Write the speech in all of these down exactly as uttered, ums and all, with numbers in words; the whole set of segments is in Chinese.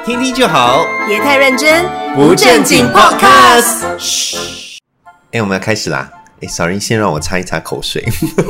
听听就好， 别太认真， 不正经 Podcast。嘘，哎，我们要开始啦！哎 ，sorry， 先让我擦一擦口水。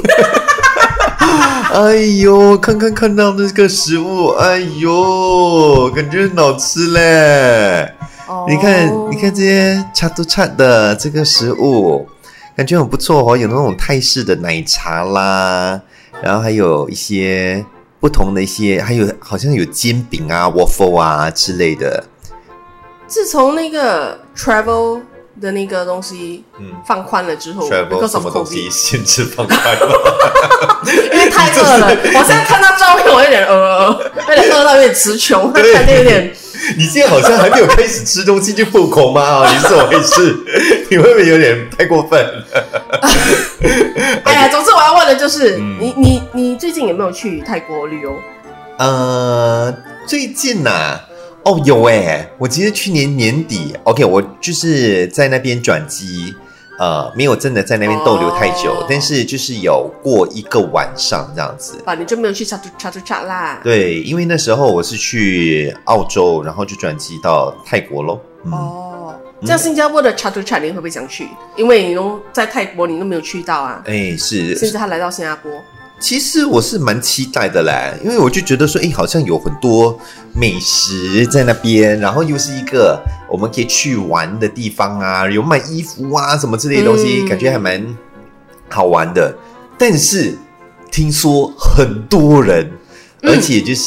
哎呦，看看看到那个食物，哎呦，感觉很好吃嘞！ Oh. 你看，你看这些恰都恰的这个食物，感觉很不错哦，有那种泰式的奶茶啦，然后还有一些不同的一些，还有好像有煎饼啊、waffle 啊之类的。 自从那个 travel 的那个东西放宽了之后 ，travel 什么东西限制放宽了？ 因为太饿了，我现在看到照片，我有点饿，有点饿到有点词穷，看到有点。 你现在好像还没有开始吃东西就破口吗？你是怎么回事？你会不会有点太过分了？ 哎呀，总之我要问的就是，嗯、你你你最近有没有去泰国旅游？ 呃，最近呐、啊，哦有哎，我其实去年年底 ，OK， 我就是在那边转机。呃，没有真的在那边逗留太久，哦、但是就是有过一个晚上这样子。 啊，你就没有去查图查图查啦？ 对，因为那时候我是去澳洲，然后就转机到泰国咯。 嗯、哦，这样新加坡的查图查你会不会想去？因为你都在泰国，你都没有去到啊。 哎，是。 现在他来到新加坡。 其实我是蛮期待的嘞，因为我就觉得说，哎，好像有很多美食在那边，然后又是一个我们可以去玩的地方啊，有卖衣服啊什么之类的东西，嗯、感觉还蛮好玩的。但是听说很多人，而且就是、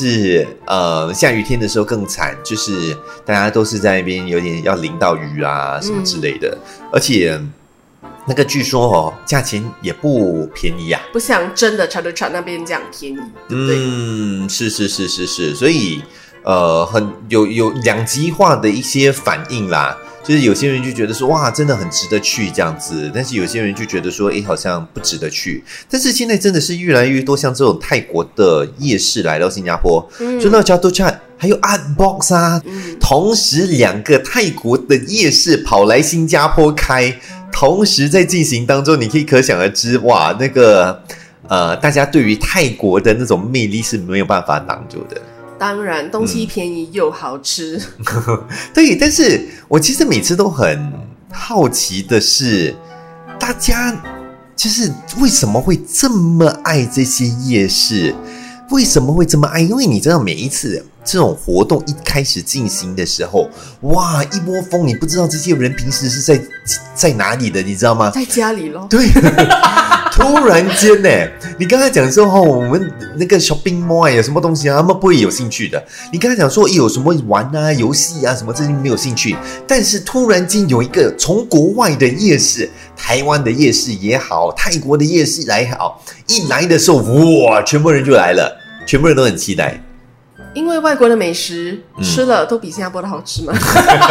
嗯、呃下雨天的时候更惨，就是大家都是在那边有点要淋到雨啊什么之类的，嗯、而且。那个据说哦，价钱也不便宜啊， 不像真的查图查那边这样便宜，对不对？ 嗯，是是是是是，所以呃，很有有两极化的一些反应啦。就是有些人就觉得说哇，真的很值得去这样子，但是有些人就觉得说，哎，好像不值得去。但是现在真的是越来越多像这种泰国的夜市来到新加坡，嗯，就那查图查还有 Art Box 啊，嗯，同时两个泰国的夜市跑来新加坡开。同时在进行当中，你可以可想而知，哇，那个呃，大家对于泰国的那种魅力是没有办法挡住的。 当然，东西便宜又好吃。 嗯、对，但是我其实每次都很好奇的是，大家就是为什么会这么爱这些夜市？为什么会这么爱？因为你知道，每一次这种活动一开始进行的时候，哇，一窝蜂，你不知道这些人平时是在在哪里的，你知道吗？ 在家里咯。 对，突然间呢，你刚才讲说哦，我们那个 shopping mall 有什么东西啊，他们不会有兴趣的。你刚才讲说有什么玩啊、游戏啊什么，这些没有兴趣。但是突然间有一个从国外的夜市，台湾的夜市也好，泰国的夜市来好，一来的时候，哇，全部人就来了。全部人都很期待， 因为外国的美食、嗯、吃了都比新加坡的好吃嘛。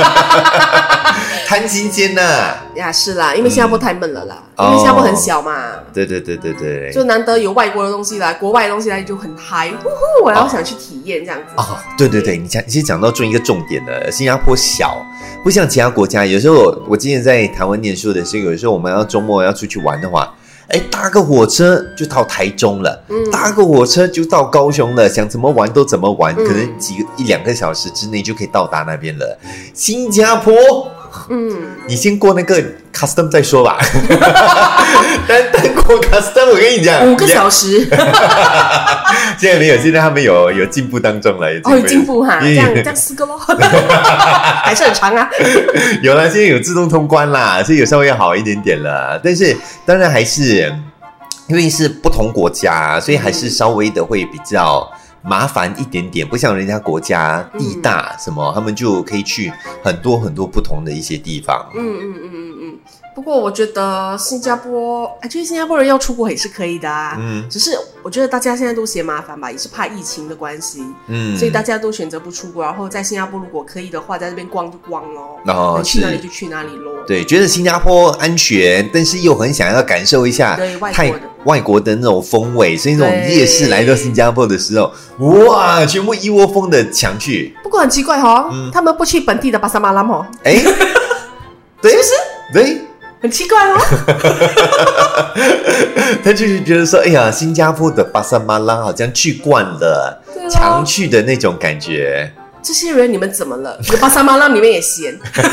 贪新鲜呐、啊！ 呀，是啦，因为新加坡太闷了啦，嗯、因为新加坡很小嘛。哦、 对对对对对， 就难得有外国的东西来，国外的东西来就很嗨，呼呼，我要想去体验这样子。 哦，对对对，你讲，其实讲到中一个重点了，新加坡小，不像其他国家。有时候我之前在台湾念书的时候，有时候我们要周末要出去玩的话。哎，搭个火车就到台中了，嗯、搭个火车就到高雄了，想怎么玩都怎么玩，嗯、可能几个一两个小时之内就可以到达那边了。新加坡，嗯，你先过那个 custom 再说吧。单单过 custom， 我跟你讲， 五个小时。 现在没有，现在他们有有进步当中了，有进步， 哦，有进步哈，这样这样四个咯，还是很长啊。 有啦，现在有自动通关啦，所以有稍微要好一点点了。但是当然还是因为是不同国家，所以还是稍微的会比较麻烦一点点，不像人家国家地大什么，嗯、他们就可以去很多很多不同的一些地方。 嗯嗯嗯嗯嗯。不过我觉得新加坡，哎，就是新加坡人要出国也是可以的啊。嗯。只是我觉得大家现在都嫌麻烦吧，也是怕疫情的关系。嗯。所以大家都选择不出国，然后在新加坡如果可以的话，在那边逛就逛咯。哦。去哪里就去哪里咯。 对，觉得新加坡安全，但是又很想要感受一下泰外国的那种风味，所以那种夜市来到新加坡的时候，哇，全部一窝蜂的抢去。 不过很奇怪哦，嗯、他们不去本地的巴沙马拉哦。 哎，对， 是不是？ 对。 很奇怪哦。 他就是觉得说，哎呀，新加坡的巴沙马拉好像去惯了，常去的那种感觉。 这些人你们怎么了？有巴沙马拉里面也咸。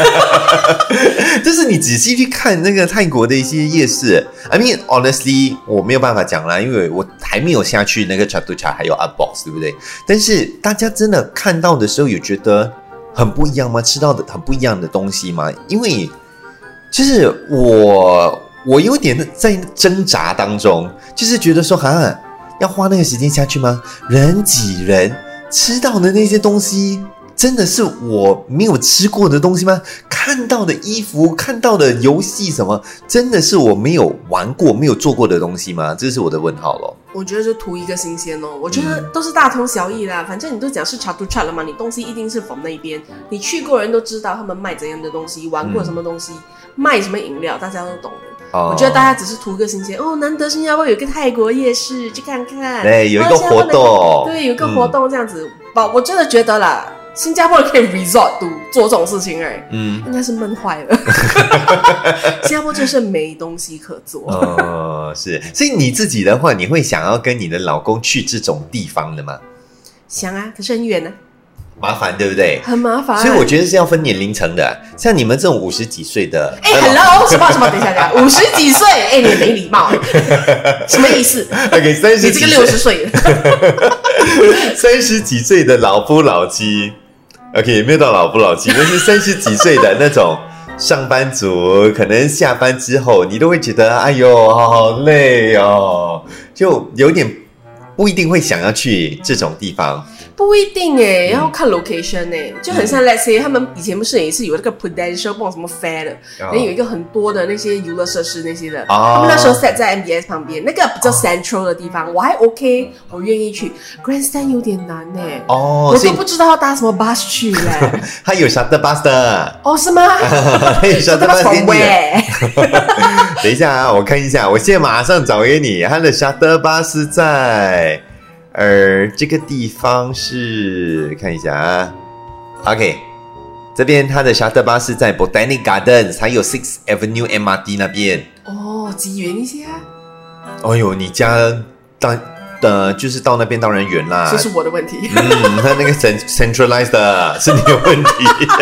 就是你仔细去看那个泰国的一些夜市 I mean honestly 我没有办法讲啦，因为我还没有下去那个 Chatuchak 还有 Artbox 对不对？但是大家真的看到的时候有觉得很不一样吗？吃到的很不一样的东西吗？因为就是我我有点在挣扎当中，就是觉得说哈要花那个时间下去吗？人挤人吃到的那些东西真的是我没有吃过的东西吗？看到的衣服看到的游戏什么真的是我没有玩过没有做过的东西吗？这是我的问号咯。 我觉得就图一个新鲜哦，我觉得都是大同小异啦、嗯、反正你都讲是 Chatuchak 了嘛，你东西一定是 from 那边，你去过人都知道他们卖怎样的东西，玩过什么东西、嗯、卖什么饮料大家都懂的、哦、我觉得大家只是图一个新鲜哦，难得新加坡有个泰国夜市去看看， 对，有一个活动， 对，有一个活动这样子、嗯、我真的觉得啦新加坡人可以 resort to 做这种事情哎，嗯，应该是闷坏了。新加坡真是没东西可做。 哦，是，所以你自己的话，你会想要跟你的老公去这种地方的吗？ 想啊，可是很远呢、啊。 麻烦对不对？ 很麻烦， 所以我觉得是要分年龄层的。像你们这种五十几岁的， 哎、欸、，hello， 什么什么？等一下，等一下，五十几岁，哎、欸，你没礼貌，什么意思 ？OK， 三十， 你这个六十岁了， 三十几岁的老夫老妻 ，OK， 也没有到老夫老妻，但是三十几岁的那种上班族，可能下班之后，你都会觉得，哎呦，好累哦，就有点不一定会想要去这种地方。 不一定耶、欸、要看 location 耶、欸、就很像 let's say 他们以前不是也是有那个 Prudential 不知道什么 Fair 的，然后、oh. 有一个很多的那些娱乐设施那些的、oh. 他们那时候 set 在 M B S 旁边那个比较 central 的地方、oh. 我还 OK 我愿意去 Grandstand 有点难耶、欸 oh, 我都不知道要搭什么 bus 去耶它有 shuttle bus 的哦、oh, 是吗它有 shuttle bus 给你等一下啊我看一下我现在马上找给你它的 shuttle bus 在而这个地方是看一下啊 ，OK， 这边它的 shuttle bus 是在 Botanic Gardens， 还有 Sixth Avenue M R T 那边。 哦，几远一些啊？ 哎呦，你家当呃就是到那边当然远啦。 这是我的问题。 嗯，它那个 centralized 的是你的问题。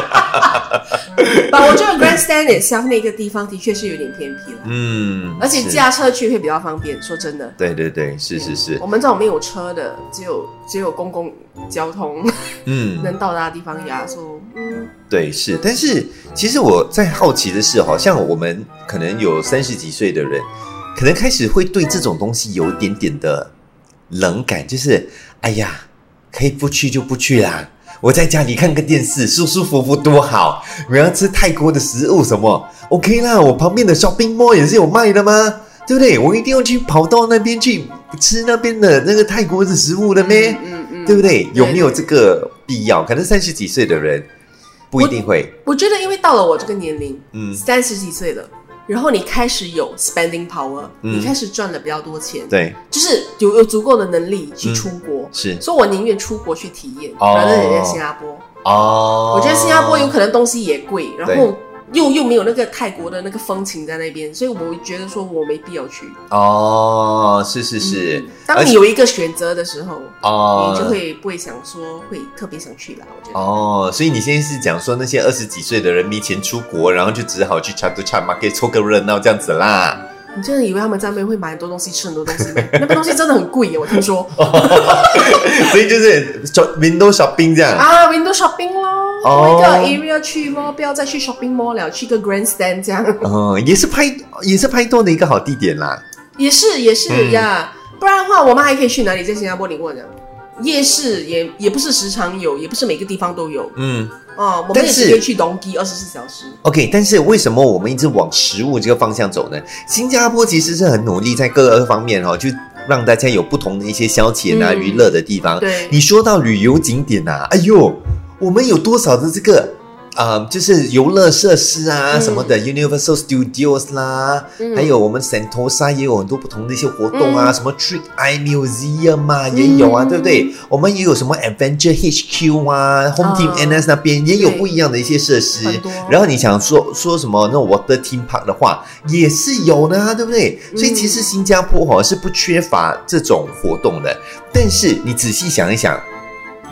我觉得 Grandstand itself 那个地方的确是有点偏僻了，嗯，而且驾车去会比较方便。说真的， 对对对，是是是。 我们这种没有车的，只有只有公共交通，嗯，能到达的地方呀，说，嗯， 对是。但是其实我在好奇的是，好像我们可能有三十几岁的人，可能开始会对这种东西有一点点的冷感，就是哎呀，可以不去就不去啦。我在家里看个电视舒舒服服多好，我要吃泰国的食物什么 OK 啦，我旁边的 shopping mall 也是有卖的吗？对不对？我一定要去跑到那边去吃那边的那个泰国的食物的咩、嗯嗯嗯、对不对？有没有这个必要？可能三十几岁的人不一定会。 我, 我觉得因为到了我这个年龄嗯，三十几岁了，然后你开始有 spending power、嗯、你开始赚了比较多钱， 对， 就是有有足够的能力去出国、嗯、是，所以我宁愿出国去体验，反正人家新加坡哦，我觉得新加坡有可能东西也贵，然后又又没有那个泰国的那个风情在那边，所以我觉得说我没必要去哦，是是是、嗯、 当你有一个选择的时候哦，你就会不会想说会特别想去啦，我觉得哦，所以你现在是讲说那些二十几岁的人没钱出国，然后就只好去 Chatuchak Market 凑个热闹这样子啦。 你真的以为他们在那边会买很多东西吃很多东西吗？那边东西真的很贵耶，我听说。 所以就是 window shopping 这样啊 window shopping 咯，哦、一个 area 去咯，不要再去 shopping mall 了，去个 grandstand 这样。 哦，也是拍也是拍多的一个好地点啦。 也是也是、嗯、呀，不然的话我们还可以去哪里？在新加坡你跟我讲，夜市也也不是时常有，也不是每个地方都有。嗯。哦，我们也是可以去东基二十四小时。OK， 但是为什么我们一直往食物这个方向走呢？新加坡其实是很努力在各个方面哦，就让大家有不同的一些消遣啊、娱、嗯、乐的地方。对，你说到旅游景点啊，哎呦，我们有多少的这个呃，就是游乐设施啊、嗯、什么的 Universal Studios 啦、嗯、还有我们 Sentosa 也有很多不同的一些活动啊、嗯、什么 Trick Eye Museum 啊、嗯、也有啊，对不对？我们也有什么 Adventure H Q 啊、Home Team N S 那边也有不一样的一些设施，然后你想说说什么那种 Water Theme Park 的话也是有的，对不对？所以其实新加坡、哦、是不缺乏这种活动的，但是你仔细想一想，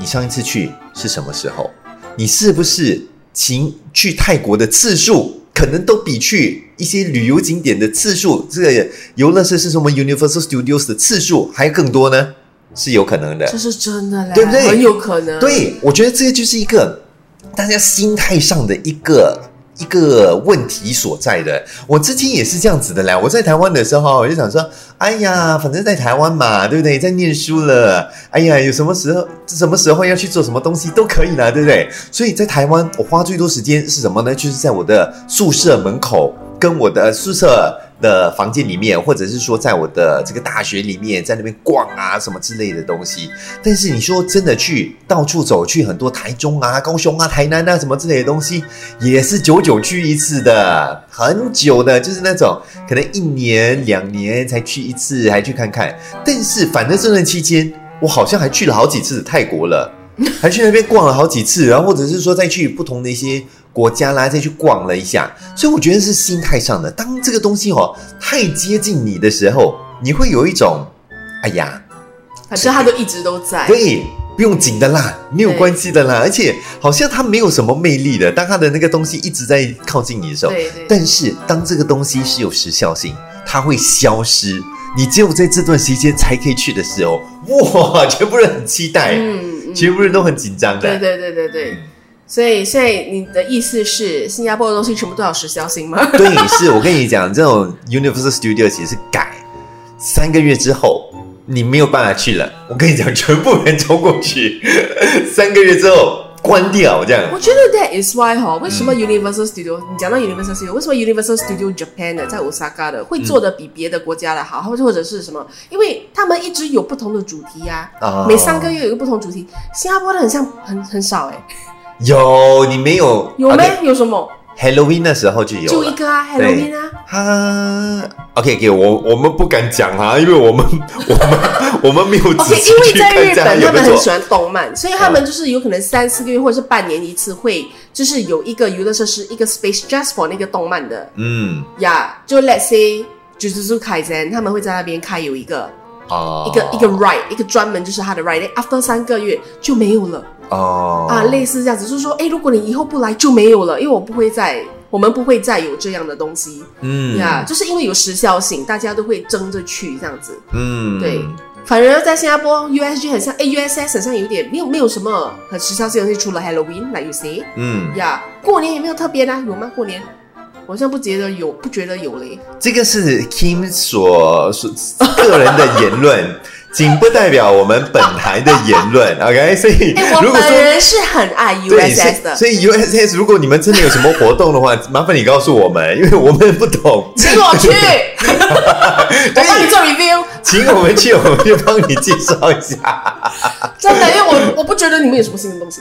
你上一次去是什么时候？你是不是请去泰国的次数可能都比去一些旅游景点的次数，这个游乐设施什么 Universal Studios 的次数还更多呢？是有可能的， 这是真的嘞， 对不对？ 很有可能。 对，我觉得这就是一个大家心态上的一个一个问题所在的。我之前也是这样子的啦。我在台湾的时候，我就想说，哎呀，反正在台湾嘛，对不对？在念书了，哎呀，有什么时候什么时候要去做什么东西都可以啦，对不对？所以在台湾，我花最多时间是什么呢？就是在我的宿舍门口，跟我的宿舍的房间里面，或者是说在我的这个大学里面，在那边逛啊什么之类的东西。但是你说真的去到处走，去很多台中啊、高雄啊、台南啊什么之类的东西，也是久久去一次的，很久的，就是那种可能一年两年才去一次，还去看看。但是反正这段期间，我好像还去了好几次泰国了，还去那边逛了好几次，然后或者是说再去不同的一些国家啦，再去逛了一下。所以我觉得是心态上的，当这个东西哦太接近你的时候，你会有一种哎呀， 反正它都一直都在， 对，不用紧的啦，没有关系的啦，而且好像它没有什么魅力的，当它的那个东西一直在靠近你的时候， 对对， 但是当这个东西是有时效性，它会消失，你只有在这段时间才可以去的时候，哇，全部人很期待，嗯嗯、全部人都很紧张的， 对对对对对。嗯，所以现在你的意思是新加坡的东西全部都有时效性吗？ 对，是我跟你讲，这种 Universal Studio 其实是改三个月之后你没有办法去了，我跟你讲，全部人冲过去，三个月之后关掉这样。 我觉得 that is why 哈，为什么 Universal Studio、嗯、你讲到 Universal Studio， 为什么 Universal Studio Japan 的在 Osaka 的会做的比别的国家的好，或、嗯、或者是什么？因为他们一直有不同的主题呀、啊哦，每三个月有一个不同主题。新加坡的很像很很少哎、欸。 有，你没有？ 有没、okay. 有什么 ？Halloween 的时候就有了， 就一个啊 ，Halloween 啊。 哈 ，OK， 给、okay, 我我们不敢讲啊，因为我们我们我们没有仔细去看。 OK， 因为在日本他们很喜欢动漫，所以他们就是有可能三四个月或者是半年一次会，就是有一个娱乐设施，一个 space just for 那个动漫的。嗯，呀、yeah, ，就 let's say Jujutsu Kaisen，他们会在那边开有一个。哦、一个一个 ride， 一个专门就是他的 ride，after 三个月就没有了。哦，啊，类似这样子，就是说，哎，如果你以后不来就没有了，因为我不会再，我们不会再有这样的东西。嗯，呀、yeah, ，就是因为有时效性，大家都会争着去这样子。嗯，对。反而在新加坡 ，U S G 很像，哎 ，U S S 很像有点没有没有什么很时效性的东西，除了 Halloween，like you say。嗯，呀、yeah, ，过年也没有特别的、啊，有吗？过年？我好像不觉得有，不觉得有嘞。 这个是 Kim 所所个人的言论，仅不代表我们本台的言论。OK， 所以、欸、 如果说我本人是很爱 U S S 的， 所以 U S S 如果你们真的有什么活动的话，麻烦你告诉我们，因为我们不懂。 请我去，我帮你做 review。 请我们去，我们就帮你介绍一下。 真的，因为我我不觉得你们有什么新的东西。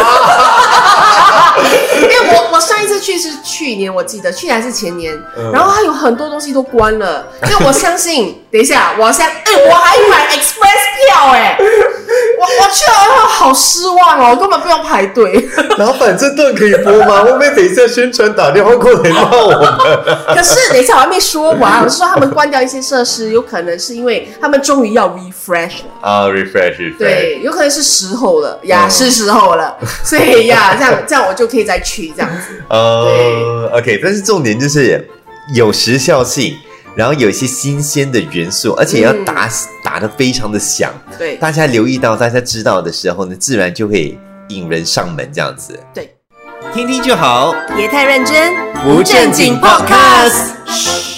因为我我上一次去是去年，我记得去年还是前年，嗯、然后它有很多东西都关了。因为我相信，等一下，我相，哎、欸，我还买 Express 票哎、欸，我我去了，好失望哦，根本不用排队。 老板，这段可以播吗？会不会等一下宣传打电话过来骂我们？ 可是等一下我还没说完，我是说他们关掉一些设施，有可能是因为他们终于要 refresh 了啊、uh, ，refresh， refresh， 对，有可能是时候了呀， yeah, 是时候了，所以呀， yeah, 这样这样我就可以再去这样子。 呃、uh, ，OK， 但是重点就是有时效性，然后有一些新鲜的元素，而且要打、嗯、打得非常的响， 对， 大家留意到，大家知道的时候呢，自然就会引人上门这样子。 对， 听听就好， 别太认真， 不正经 podcast。